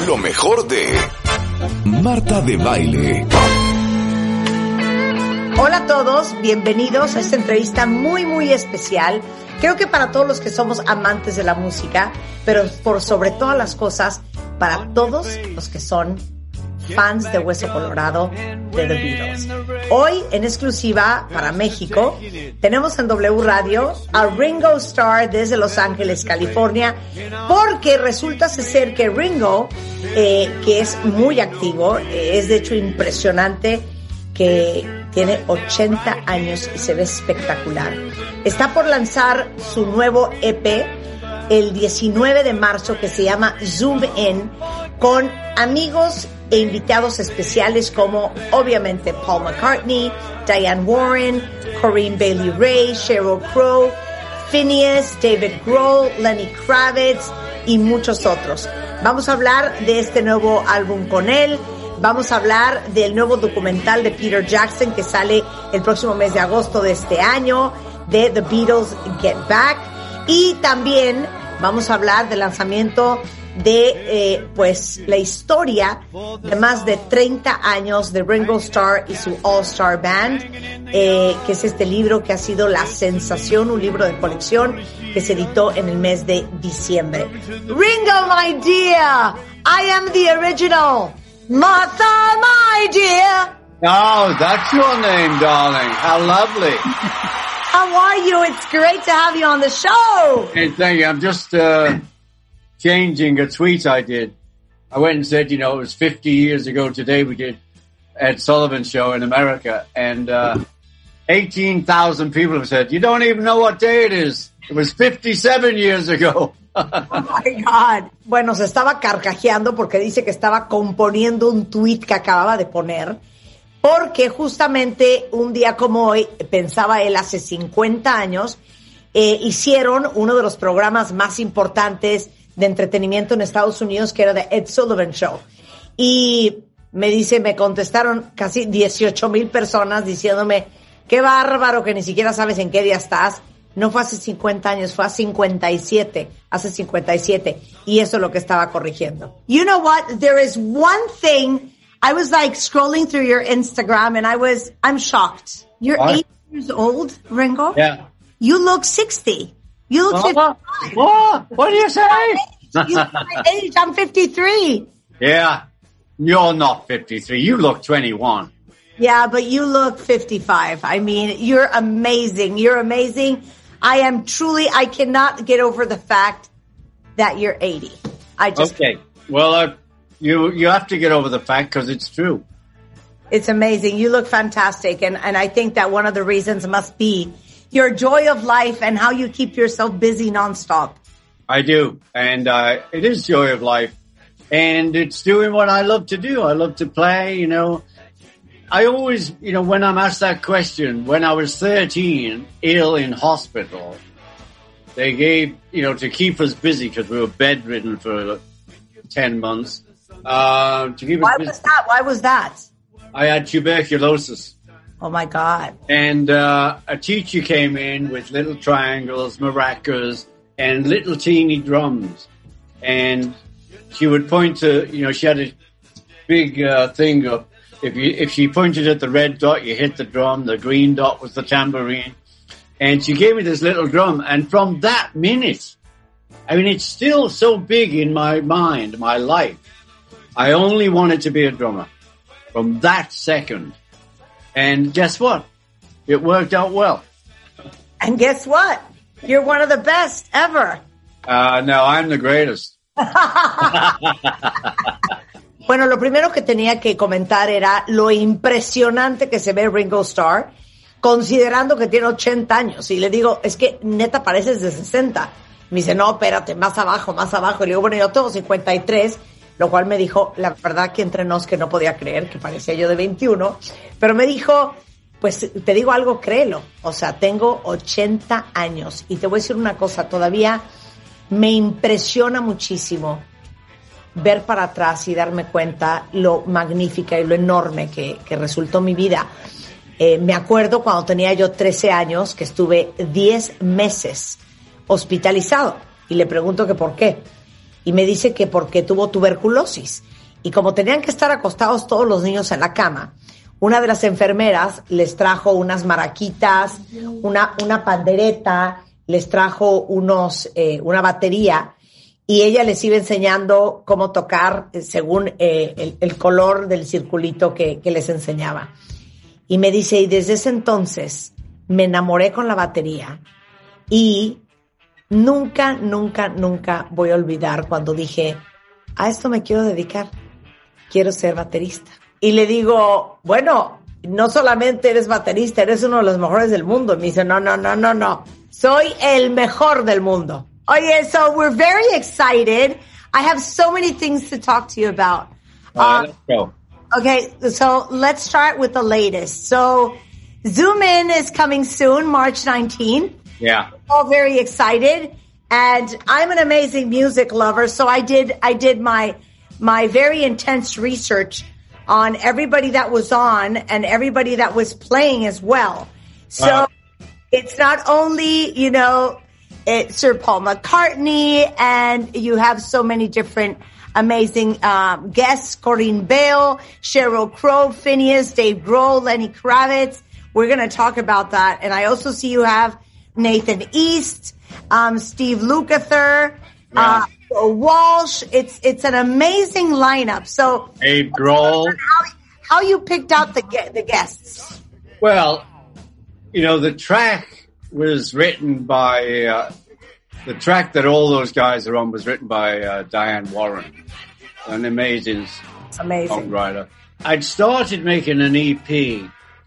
Lo mejor de Marta de Baile. Hola a todos, bienvenidos a esta entrevista muy, muy especial. Creo que para todos los que somos amantes de la música, pero por sobre todas las cosas, para todos los que son fans de Hueso Colorado de The Beatles. Hoy, en exclusiva para México, tenemos en W Radio a Ringo Starr desde Los Ángeles, California, porque resulta ser que Ringo, que es muy activo, es de hecho impresionante, que tiene 80 años y se ve espectacular. Está por lanzar su nuevo EP el 19 de marzo que se llama Zoom In, con amigos e invitados especiales como obviamente Paul McCartney, Diane Warren, Corinne Bailey Rae, Sheryl Crow, Phineas, David Grohl, Lenny Kravitz y muchos otros. Vamos a hablar de este nuevo álbum con él. Vamos a hablar del nuevo documental de Peter Jackson que sale el próximo mes de agosto de este año, de The Beatles Get Back. Y también vamos a hablar del lanzamiento de pues la historia de más de 30 años de Ringo Starr y su All Star Band, que es este libro que ha sido la sensación, un libro de colección que se editó en el mes de diciembre. Ringo, my dear, I am the original Martha, my dear. Oh, that's your name, darling. How lovely. How are you? It's great to have you on the show. Hey, thank you. I'm just changing a tweet I did. I went and said, it was 50 years ago today we did Ed Sullivan's show in America, and 18,000 people have said, you don't even know what day it is. It was 57 years ago. Oh my God. Bueno, se estaba carcajeando porque dice que estaba componiendo un tweet que acababa de poner, porque justamente un día como hoy, pensaba él, hace 50 años, hicieron uno de los programas más importantes de entretenimiento en Estados Unidos, que era The Ed Sullivan Show. Y me contestaron casi 18,000 personas diciéndome, qué bárbaro que ni siquiera sabes en qué día estás. No fue hace 50 años, fue hace 57. Y eso es lo que estaba corrigiendo. You know what? There is one thing. I was like scrolling through your Instagram and I'm shocked. You're What? 8 years old, Ringo? Yeah. You look 60. You look 55. What do you say? You look my age. I'm 53. Yeah. You're not 53. You look 21. Yeah, but you look 55. I mean, you're amazing. You're amazing. I cannot get over the fact that you're 80. Okay. Well, you have to get over the fact because it's true. It's amazing. You look fantastic. And I think that one of the reasons must be your joy of life and how you keep yourself busy nonstop. I do. And it is joy of life. And it's doing what I love to do. I love to play, I always, when I'm asked that question, when I was 13, ill in hospital, they gave, to keep us busy because we were bedridden for 10 months. To keep us busy. Why was that? I had tuberculosis. Oh my God. And a teacher came in with little triangles, maracas, and little teeny drums. And she would point to, she had a big thing up. If she pointed at the red dot, you hit the drum. The green dot was the tambourine. And she gave me this little drum. And from that minute, it's still so big in my mind, my life. I only wanted to be a drummer from that second. And guess what? It worked out well. And guess what? You're one of the best ever. No, I'm the greatest. Bueno, lo primero que tenía que comentar era lo impresionante que se ve Ringo Starr, considerando que tiene 80 años. Y le digo, es que neta pareces de 60. Me dice, no, espérate, más abajo. Y le digo, bueno, yo tengo 53, lo cual me dijo, la verdad que entre nos que no podía creer, que parecía yo de 21. Pero me dijo, pues te digo algo, créelo. O sea, tengo 80 años. Y te voy a decir una cosa, todavía me impresiona muchísimo ver para atrás y darme cuenta lo magnífica y lo enorme que resultó mi vida. Me acuerdo cuando tenía yo 13 años que estuve 10 meses hospitalizado y le pregunto que por qué. y me dice que porque tuvo tuberculosis. Y como tenían que estar acostados todos los niños en la cama, una de las enfermeras les trajo unas maraquitas, una pandereta, les trajo una batería, y ella les iba enseñando cómo tocar según el color del circulito que les enseñaba. Y me dice, y desde ese entonces me enamoré con la batería y nunca voy a olvidar cuando dije, a esto me quiero dedicar, quiero ser baterista. Y le digo, bueno, no solamente eres baterista, eres uno de los mejores del mundo. Y me dice, no, soy el mejor del mundo. Oye, so we're very excited. I have so many things to talk to you about. Let's go. Okay, so let's start with the latest. So Zoom In is coming soon, March 19th. Yeah. We're all very excited. And I'm an amazing music lover, so I did my very intense research on everybody that was on and everybody that was playing as well. So it's not only, Sir Paul McCartney, and you have so many different amazing guests, Corinne Bale, Sheryl Crow, Phineas, Dave Grohl, Lenny Kravitz. We're going to talk about that. And I also see you have Nathan East, Steve Lukather, Walsh. It's an amazing lineup. So Dave Grohl. How you picked out the guests? Well, the track was written by, the track that all those guys are on was written by Diane Warren, an amazing songwriter. I'd started making an EP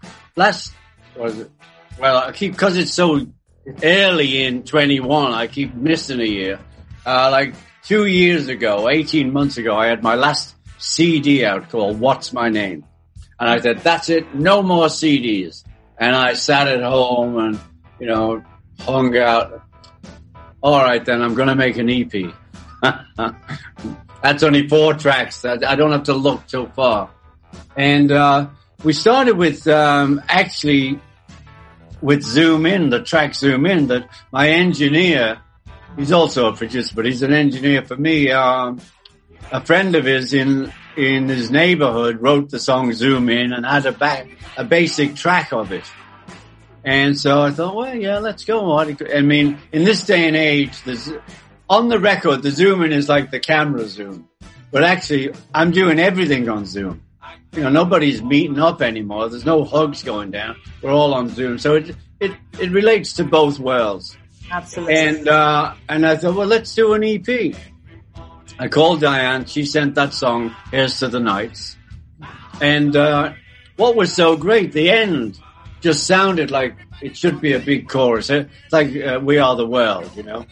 because it's so early in 21, I keep missing a year. Like 2 years ago, 18 months ago, I had my last CD out called What's My Name? And I said, that's it, no more CDs. And I sat at home and, hung out. All right, then I'm going to make an EP. That's only 4 tracks. I don't have to look too far. And we started with actually with Zoom In, the track Zoom In, that my engineer, he's also a producer, but he's an engineer for me. A friend of his in his neighborhood wrote the song Zoom In and had a basic track of it. And so I thought, well, yeah, let's go. I mean, in this day and age, on the record, the Zoom In is like the camera zoom. But actually, I'm doing everything on Zoom. Nobody's meeting up anymore. There's no hugs going down. We're all on Zoom. So it relates to both worlds. Absolutely. And I thought, well, let's do an EP. I called Diane. She sent that song, Here's to the Nights. And what was so great, the end just sounded like it should be a big chorus. It's like We Are the World,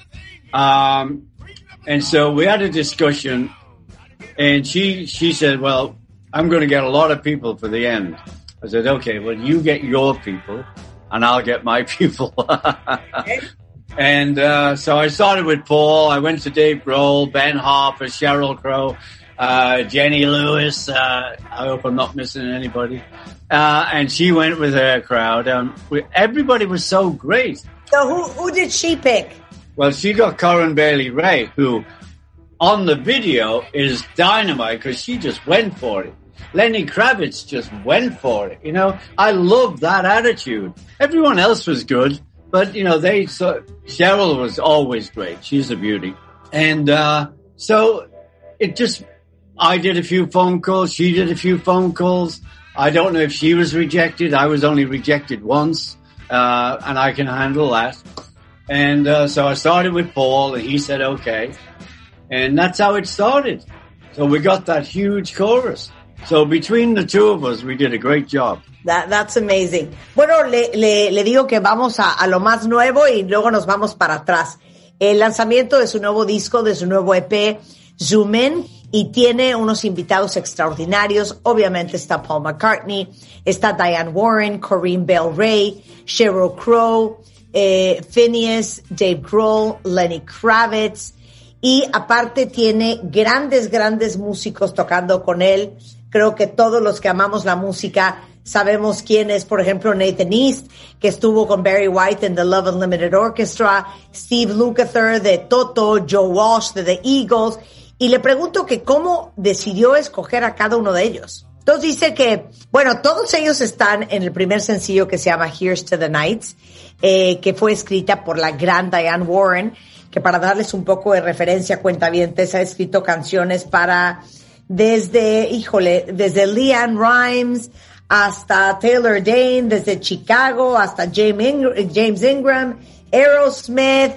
And so we had a discussion, and she said, well, I'm going to get a lot of people for the end. I said, okay, well, you get your people, and I'll get my people. And so I started with Paul. I went to Dave Grohl, Ben Harper, Sheryl Crow, Jenny Lewis. I hope I'm not missing anybody. And she went with her crowd. Everybody was so great. So who did she pick? Well, she got Corinne Bailey Rae, who on the video is dynamite because she just went for it. Lenny Kravitz just went for it. I love that attitude. Everyone else was good, but Sheryl was always great. She's a beauty. And so I did a few phone calls. She did a few phone calls. I don't know if she was rejected. I was only rejected once, and I can handle that. And so I started with Paul, and he said, okay. And that's how it started. So we got that huge chorus. So between the two of us, we did a great job. That's amazing. Bueno, le digo que vamos a lo más nuevo y luego nos vamos para atrás. El lanzamiento de su nuevo disco, de su nuevo EP, Zoom In, y tiene unos invitados extraordinarios. Obviamente está Paul McCartney, está Diane Warren, Corinne Bale Ray, Sheryl Crow, Phineas, Dave Grohl, Lenny Kravitz, y aparte tiene grandes músicos tocando con él. Creo que todos los que amamos la música Sabemos quién es, por ejemplo, Nathan East, que estuvo con Barry White en The Love Unlimited Orchestra, Steve Lukather de Toto, Joe Walsh de The Eagles, y le pregunto que cómo decidió escoger a cada uno de ellos. Entonces dice que, bueno, todos ellos están en el primer sencillo que se llama Here's to the Nights, que fue escrita por la gran Diane Warren, que para darles un poco de referencia, cuentavientes, ha escrito canciones para desde Leanne Rimes hasta Taylor Dayne, desde Chicago hasta James Ingram, Aerosmith,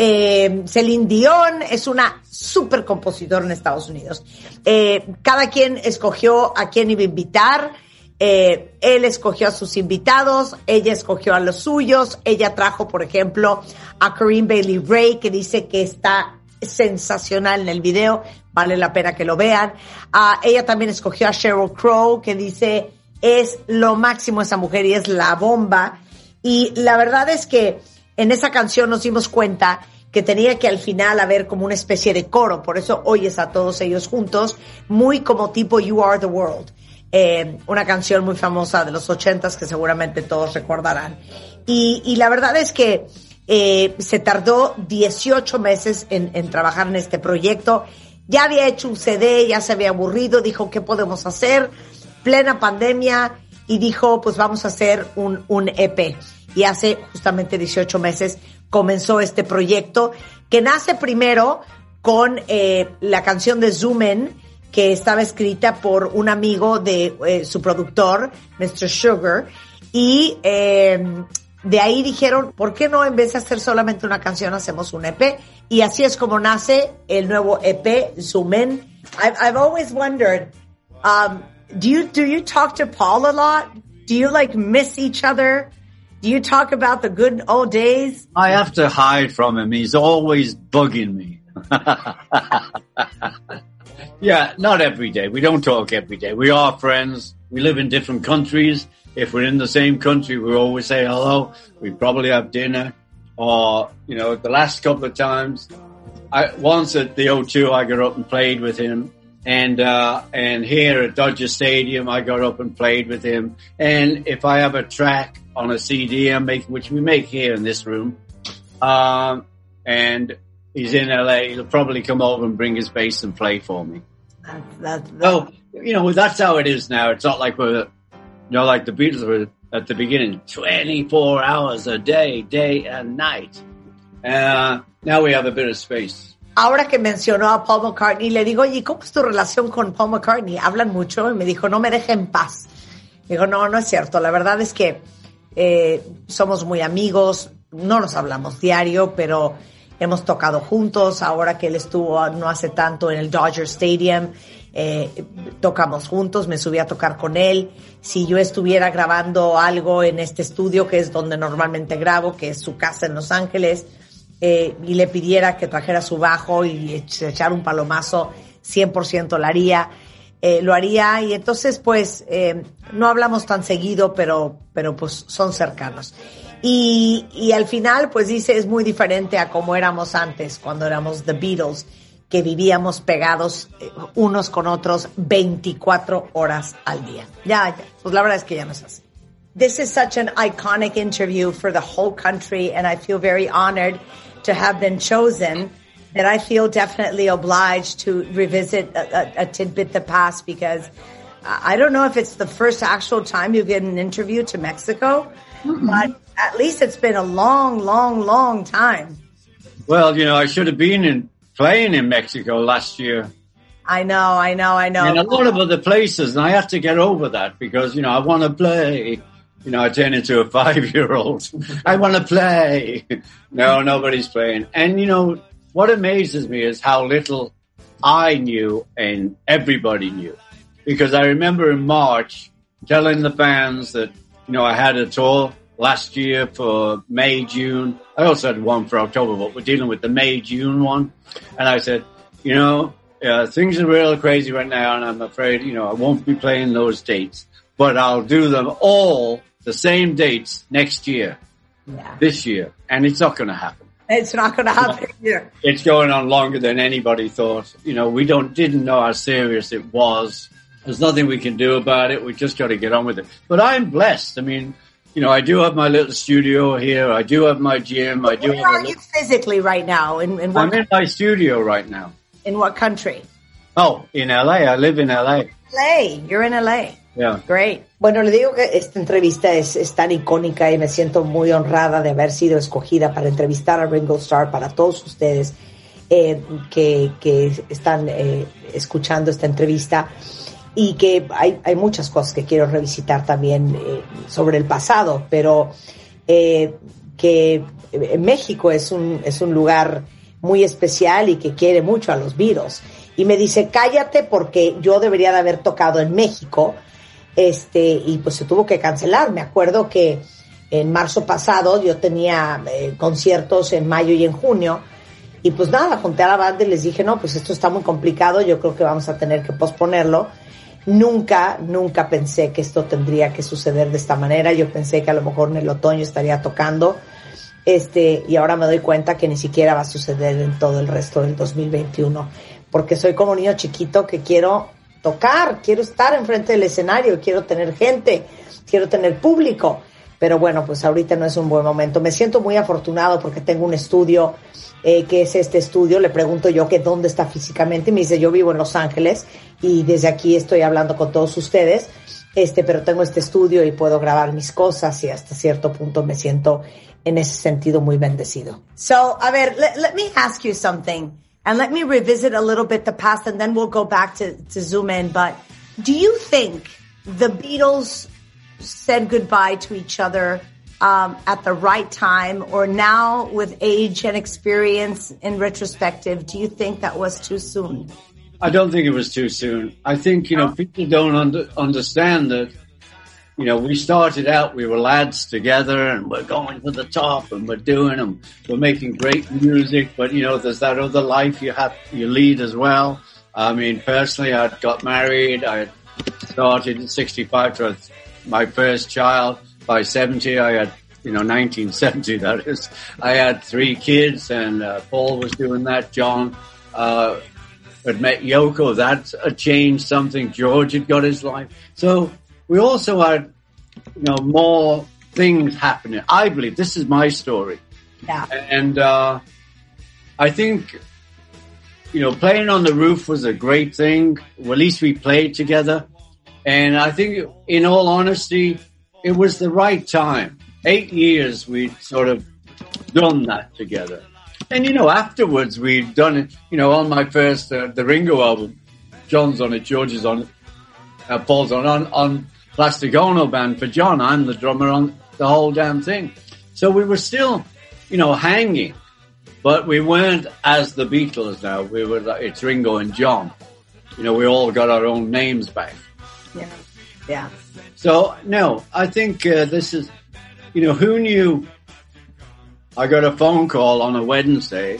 Celine Dion. Es una super compositora en Estados Unidos. Cada quien escogió a quién iba a invitar. Él escogió a sus invitados, ella escogió a los suyos. Ella trajo, por ejemplo, a Corinne Bailey Rae, que dice que está sensacional en el video, vale la pena que lo vean. Ella también escogió a Sheryl Crow, que dice es lo máximo esa mujer y es la bomba. Y la verdad es que en esa canción nos dimos cuenta que tenía que al final haber como una especie de coro, por eso oyes a todos ellos juntos, muy como tipo You Are the World, una canción muy famosa de los 80s que seguramente todos recordarán. Y la verdad es que se tardó 18 meses en trabajar en este proyecto. Ya había hecho un CD, ya se había aburrido, dijo, ¿qué podemos hacer? Plena pandemia, y dijo, pues vamos a hacer un EP. Y hace justamente 18 meses comenzó este proyecto, que nace primero con la canción de Zoom In, que estaba escrita por un amigo de su productor, Mr. Sugar, y de ahí dijeron, ¿por qué no en vez de hacer solamente una canción hacemos un EP? Y así es como nace el nuevo EP, Zoom In. I've always wondered, do you talk to Paul a lot? Do you like miss each other? Do you talk about the good old days? I have to hide from him. He's always bugging me. Yeah, not every day. We don't talk every day. We are friends. We live in different countries. If we're in the same country, we always say hello. We probably have dinner. Or, you know, the last couple of times, once at the O2, I got up and played with him. And here at Dodger Stadium, I got up and played with him. And if I have a track on a CD I'm making, which we make here in this room, and he's in LA, he'll probably come over and bring his bass and play for me. So, you know, that's how it is now. It's not like we're, you know, like the Beatles were at the beginning, 24 hours a day, day and night. Now we have a bit of space. Ahora que mencionó a Paul McCartney, le digo, oye, ¿cómo es tu relación con Paul McCartney? ¿Hablan mucho? Y me dijo, no me deja en paz. Digo, no es cierto. La verdad es que somos muy amigos, no nos hablamos diario, pero hemos tocado juntos. Ahora que él estuvo no hace tanto en el Dodger Stadium, tocamos juntos, me subí a tocar con él. Si yo estuviera grabando algo en este estudio, que es donde normalmente grabo, que es su casa en Los Ángeles, y le pidiera que trajera su bajo y echar un palomazo, 100% lo haría. Y entonces, pues, no hablamos tan seguido, pero pues son cercanos. Y al final, pues dice, es muy diferente a como éramos antes, cuando éramos The Beatles, que vivíamos pegados unos con otros 24 horas al día. Ya, pues la verdad es que ya no es así. This is such an iconic interview for the whole country, and I feel very honored to have been chosen, that I feel definitely obliged to revisit a tidbit that passed, because I don't know if it's the first actual time you get an interview to Mexico, but at least it's been a long, long, long time. Well, you know, I should have been playing in Mexico last year. I know. And a lot of other places, and I have to get over that because, you know, I want to play. You know, I turn into a 5-year-old. I want to play. No, nobody's playing. And, you know, what amazes me is how little I knew and everybody knew. Because I remember in March telling the fans that, you know, I had a tour last year for May, June. I also had one for October, but we're dealing with the May, June one. And I said, you know, things are real crazy right now, and I'm afraid, you know, I won't be playing those dates. But I'll do them all the same dates next year, this year, and it's not going to happen. It's not going to happen here. It's going on longer than anybody thought. You know, we didn't know how serious it was. there's nothing we can do about it. We just got to get on with it. But I'm blessed. I mean, you know, I do have my little studio here. I do have my gym. I do. Where are you physically right now? I'm in my studio right now. In what country? Oh, in LA. I live in LA. LA. You're in LA. Yeah. Great. Bueno, le digo que esta entrevista es tan icónica y me siento muy honrada de haber sido escogida para entrevistar a Ringo Starr para todos ustedes que están escuchando esta entrevista, y que hay muchas cosas que quiero revisitar también sobre el pasado, pero que México es un lugar muy especial y que quiere mucho a los Beatles. Y me dice, cállate porque yo debería de haber tocado en México, y pues se tuvo que cancelar. Me acuerdo que en marzo pasado yo tenía conciertos en mayo y en junio, y pues nada, junté a la banda y les dije, no, pues esto está muy complicado, yo creo que vamos a tener que posponerlo. Nunca pensé que esto tendría que suceder de esta manera. Yo pensé que a lo mejor en el otoño estaría tocando, y ahora me doy cuenta que ni siquiera va a suceder en todo el resto del 2021, porque soy como un niño chiquito que quiero tocar, quiero estar enfrente del escenario, quiero tener gente, quiero tener público, pero bueno, pues ahorita no es un buen momento. Me siento muy afortunado porque tengo un estudio, que es este estudio. Le pregunto yo que dónde está físicamente, y me dice, yo vivo en Los Ángeles y desde aquí estoy hablando con todos ustedes, pero tengo este estudio y puedo grabar mis cosas, y hasta cierto punto me siento en ese sentido muy bendecido. So, a ver, let me ask you something, and let me revisit a little bit the past, and then we'll go back to zoom in. But do you think the Beatles said goodbye to each other at the right time, or now with age and experience in retrospective, do you think that was too soon? I don't think it was too soon. I think, you know, people don't understand that, you know, we started out, we were lads together and we're going to the top and we're doing them. We're making great music, but, you know, there's that other life you lead as well. I mean, personally, I got married. I started at 65 to my first child. By 70, I had, 1970, that is. I had 3 kids, and Paul was doing that. John had met Yoko. That had changed something. George had got his life. So we also had, more things happening. I believe this is my story. Yeah. And I think, playing on the roof was a great thing. Well, at least we played together. And I think, in all honesty, it was the right time. 8 years we'd sort of done that together. And, afterwards we'd done it, on my first, the Ringo album. John's on it, George is on it, Paul's on Plastic Ono Band for John. I'm the drummer on the whole damn thing. So we were still, hanging, but we weren't as the Beatles now. We were, it's Ringo and John. We all got our own names back. Yeah. Yeah. So, no, I think this is, who knew? I got a phone call on a Wednesday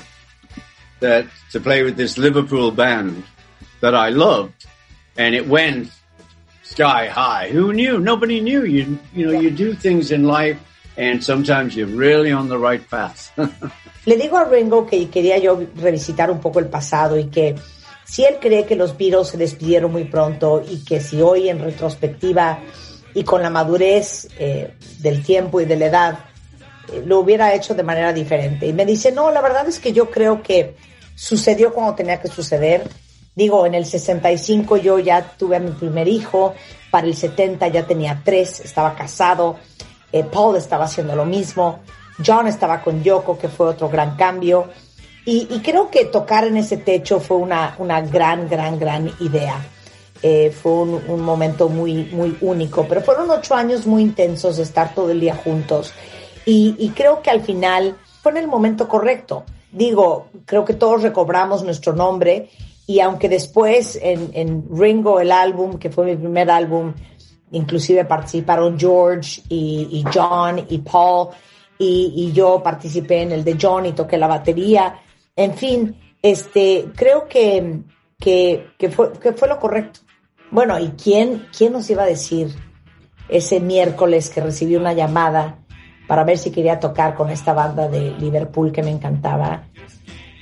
to play with this Liverpool band that I loved, and it went sky high. Who knew? Nobody knew. You do things in life, and sometimes you're really on the right path. Le digo a Ringo que quería yo revisitar un poco el pasado, y que si él cree que los Beatles se despidieron muy pronto, y que si hoy en retrospectiva y con la madurez del tiempo y de la edad lo hubiera hecho de manera diferente. Y me dice, no, la verdad es que yo creo que sucedió cuando tenía que suceder. Digo, en el 65 yo ya tuve a mi primer hijo, para el 70 ya tenía 3, estaba casado, Paul estaba haciendo lo mismo, John estaba con Yoko, que fue otro gran cambio. Y creo que tocar en ese techo fue una gran idea. Fue un momento muy, muy único, pero fueron 8 años muy intensos de estar todo el día juntos. Y creo que al final fue en el momento correcto. Digo, creo que todos recobramos nuestro nombre, y aunque después en Ringo, el álbum, que fue mi primer álbum, inclusive participaron George y John y Paul, y yo participé en el de John y toqué la batería. En fin, creo que fue lo correcto. Bueno, ¿y quién nos iba a decir ese miércoles que recibí una llamada para ver si quería tocar con esta banda de Liverpool que me encantaba,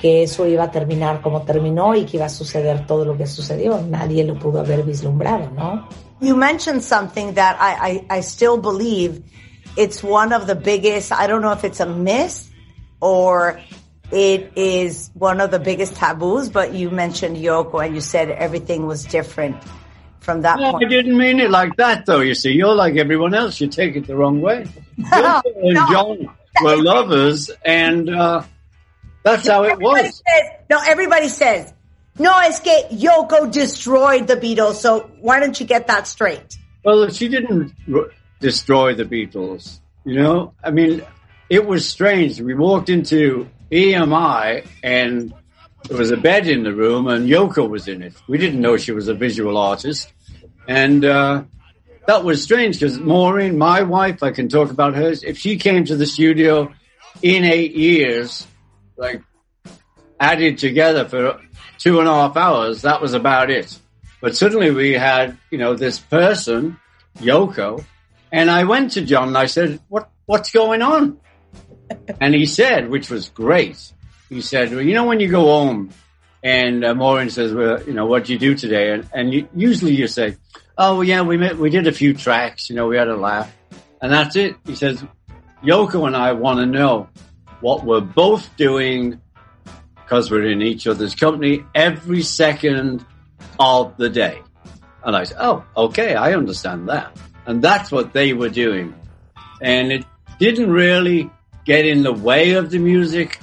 que eso iba a terminar como terminó y que iba a suceder todo lo que sucedió. Nadie lo pudo haber vislumbrado, ¿no? You mentioned something that I still believe it's one of the biggest, I don't know if it's a myth or it is one of the biggest taboos, but you mentioned Yoko and you said everything was different from that point. I didn't mean it like that, though, you see. You're like everyone else. You take it the wrong way. Yoko and John were lovers, and that's how it was. Everybody says, no, es que Yoko destroyed the Beatles, so why don't you get that straight? Well, she didn't destroy the Beatles, you know? I mean, it was strange. We walked into EMI, and there was a bed in the room, and Yoko was in it. We didn't know she was a visual artist. And that was strange, because Maureen, my wife, I can talk about hers, if she came to the studio in 8 years, like, added together for 2.5 hours, that was about it. But suddenly we had, you know, this person, Yoko, and I went to John and I said, what's going on? And he said, which was great, he said, well, you know, when you go home and Maureen says, well, you know, what'd you do today? And usually you say, oh, well, yeah, we did a few tracks, you know, we had a laugh. And that's it. He says, Yoko and I want to know what we're both doing, because we're in each other's company, every second of the day. And I said, oh, okay, I understand that. And that's what they were doing. And it didn't really get in the way of the music.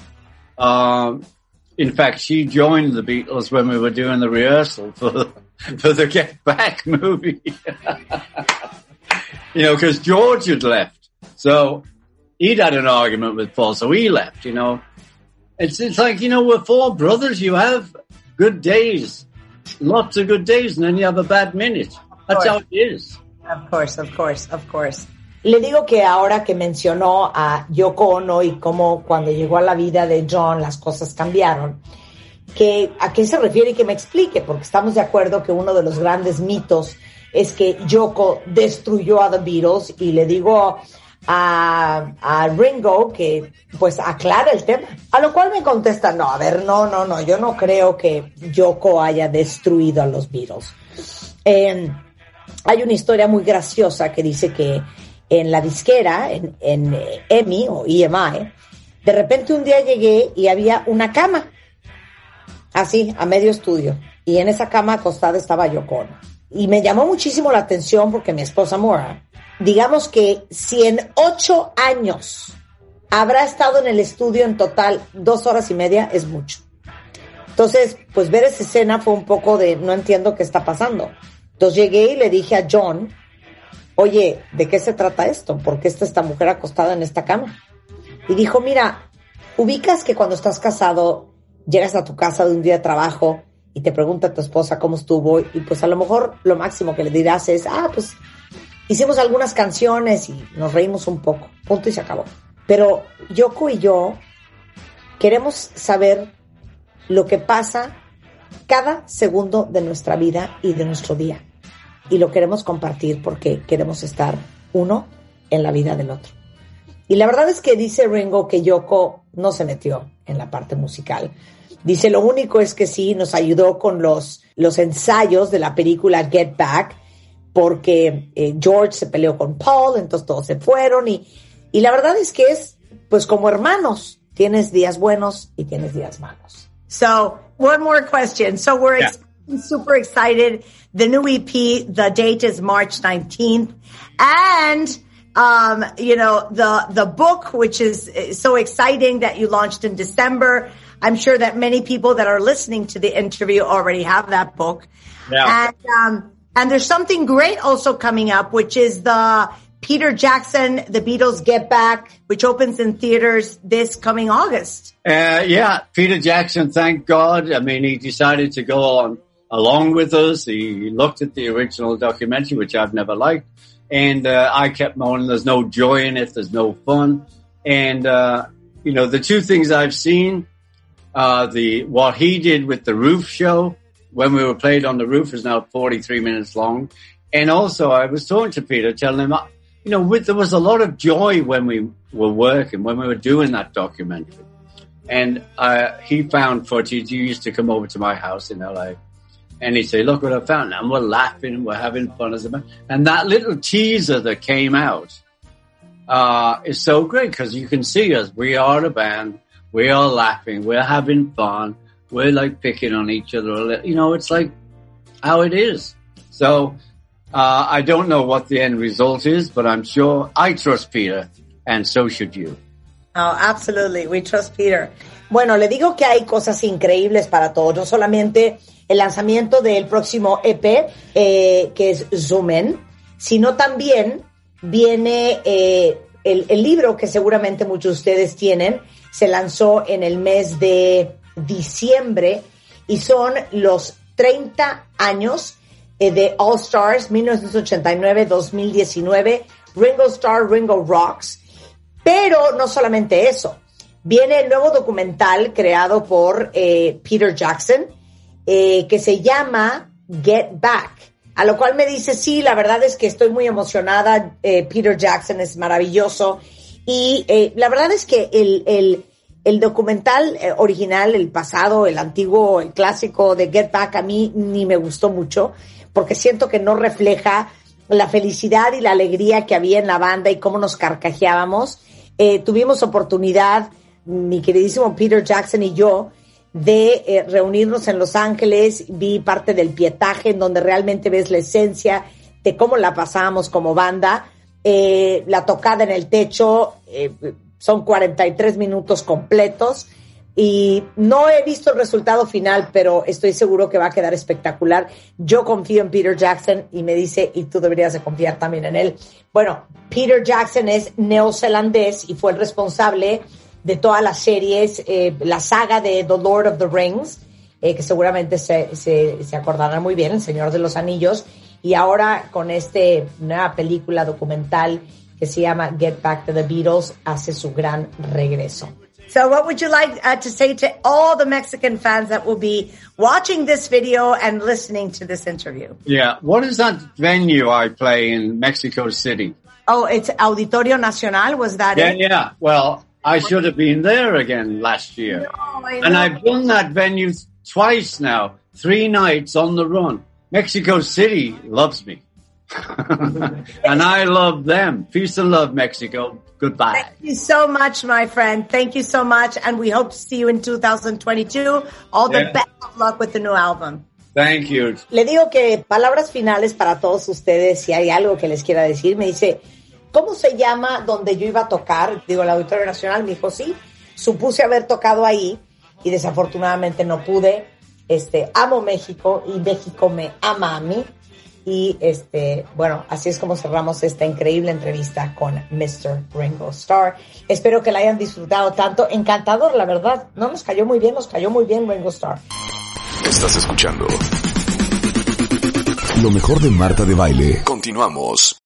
In fact, she joined the Beatles when we were doing the rehearsal for the Get Back movie. You know, because George had left. So he'd had an argument with Paul, so he left, you know. It's like, you know, we're four brothers. You have good days, lots of good days, and then you have a bad minute. That's how it is. Of course. Le digo que ahora que mencionó a Yoko Ono y cómo cuando llegó a la vida de John las cosas cambiaron, que a qué se refiere y que me explique, porque estamos de acuerdo que uno de los grandes mitos es que Yoko destruyó a The Beatles, y le digo a Ringo que pues aclara el tema, a lo cual me contesta, no, yo no creo que Yoko haya destruido a los Beatles. Hay una historia muy graciosa que dice que en la disquera, en EMI o EMI, de repente un día llegué y había una cama así a medio estudio, y en esa cama acostada estaba Yoko Ono, y me llamó muchísimo la atención porque mi esposa Maura, digamos que si en 8 años habrá estado en el estudio en total 2 horas y media, es mucho. Entonces, pues ver esa escena fue un poco de no entiendo qué está pasando. Entonces llegué y le dije a John, oye, ¿de qué se trata esto? ¿Por qué está esta mujer acostada en esta cama? Y dijo, mira, ubicas que cuando estás casado, llegas a tu casa de un día de trabajo y te pregunta a tu esposa cómo estuvo, y pues a lo mejor lo máximo que le dirás es, pues hicimos algunas canciones y nos reímos un poco, punto y se acabó. Pero Yoko y yo queremos saber lo que pasa cada segundo de nuestra vida y de nuestro día. Y lo queremos compartir porque queremos estar uno en la vida del otro. Y la verdad es que dice Ringo que Yoko no se metió en la parte musical. Dice, lo único es que sí nos ayudó con los ensayos de la película Get Back, porque George se peleó con Paul, entonces todos se fueron, y la verdad es que es pues como hermanos, tienes días buenos y tienes días malos. So, one more question. So we're super excited. The new EP, the date is March 19th. And, you know, the book, which is so exciting that you launched in December. I'm sure that many people that are listening to the interview already have that book. Yeah. And there's something great also coming up, which is the Peter Jackson, The Beatles Get Back, which opens in theaters this coming August. Peter Jackson, thank God. I mean, he decided to go along with us. He looked at the original documentary, which I've never liked. And I kept moaning, there's no joy in it, there's no fun. And, you know, the two things I've seen, what he did with the roof show, when we were played on the roof, is now 43 minutes long. And also I was talking to Peter, telling him, you know, there was a lot of joy when we were working, when we were doing that documentary. And he found footage. He used to come over to my house in LA. And he'd say, look what I found. And we're laughing and we're having fun as a band. And that little teaser that came out is so great because you can see us. We are a band. We are laughing. We're having fun. We're like picking on each other. You know, it's like how it is. So I don't know what the end result is, but I'm sure I trust Peter, and so should you. Oh, absolutely. We trust Peter. Bueno, le digo que hay cosas increíbles para todos. No solamente el lanzamiento del próximo EP, que es Zoom In, sino también viene el libro que seguramente muchos de ustedes tienen. Se lanzó en el mes de diciembre y son los 30 años de All Stars 1989-2019, Ringo Starr, Ringo Rocks. Pero no solamente eso. Viene el nuevo documental creado por Peter Jackson, que se llama Get Back. A lo cual me dice, sí, la verdad es que estoy muy emocionada. Peter Jackson es maravilloso. Y la verdad es que el documental original, el pasado, el antiguo, el clásico de Get Back, a mí ni me gustó mucho, porque siento que no refleja la felicidad y la alegría que había en la banda y cómo nos carcajeábamos. Tuvimos oportunidad, mi queridísimo Peter Jackson y yo, de reunirnos en Los Ángeles. Vi parte del pietaje en donde realmente ves la esencia de cómo la pasábamos como banda. La tocada en el techo, son 43 minutos completos y no he visto el resultado final, pero estoy seguro que va a quedar espectacular. Yo confío en Peter Jackson y me dice, y tú deberías de confiar también en él. Bueno, Peter Jackson es neozelandés y fue el responsable de todas las series, la saga de The Lord of the Rings, que seguramente se acordarán muy bien, El Señor de los Anillos, y ahora con nueva película documental que se llama Get Back to the Beatles, hace su gran regreso. So what would you like to say to all the Mexican fans that will be watching this video and listening to this interview? Yeah. What is that venue I play in Mexico City? Oh, it's Auditorio Nacional. Was that it? Yeah. Well, I should have been there again last year. No, I know. And I've done that venue twice now, 3 nights on the run. Mexico City loves me. And I love them. Peace and love, Mexico. Goodbye. Thank you so much, my friend. Thank you so much. And we hope to see you in 2022. All the best of luck with the new album. Thank you. Le digo que palabras finales para todos ustedes, si hay algo que les quiera decir. Me dice, ¿cómo se llama donde yo iba a tocar? Digo, el Auditorio Nacional. Me dijo, sí. Supuse haber tocado ahí y desafortunadamente no pude. Amo México y México me ama a mí. Y bueno, así es como cerramos esta increíble entrevista con Mr. Ringo Starr. Espero que la hayan disfrutado tanto. Encantador, la verdad. No nos cayó muy bien Ringo Starr. Estás escuchando lo mejor de Marta de Baile. Continuamos.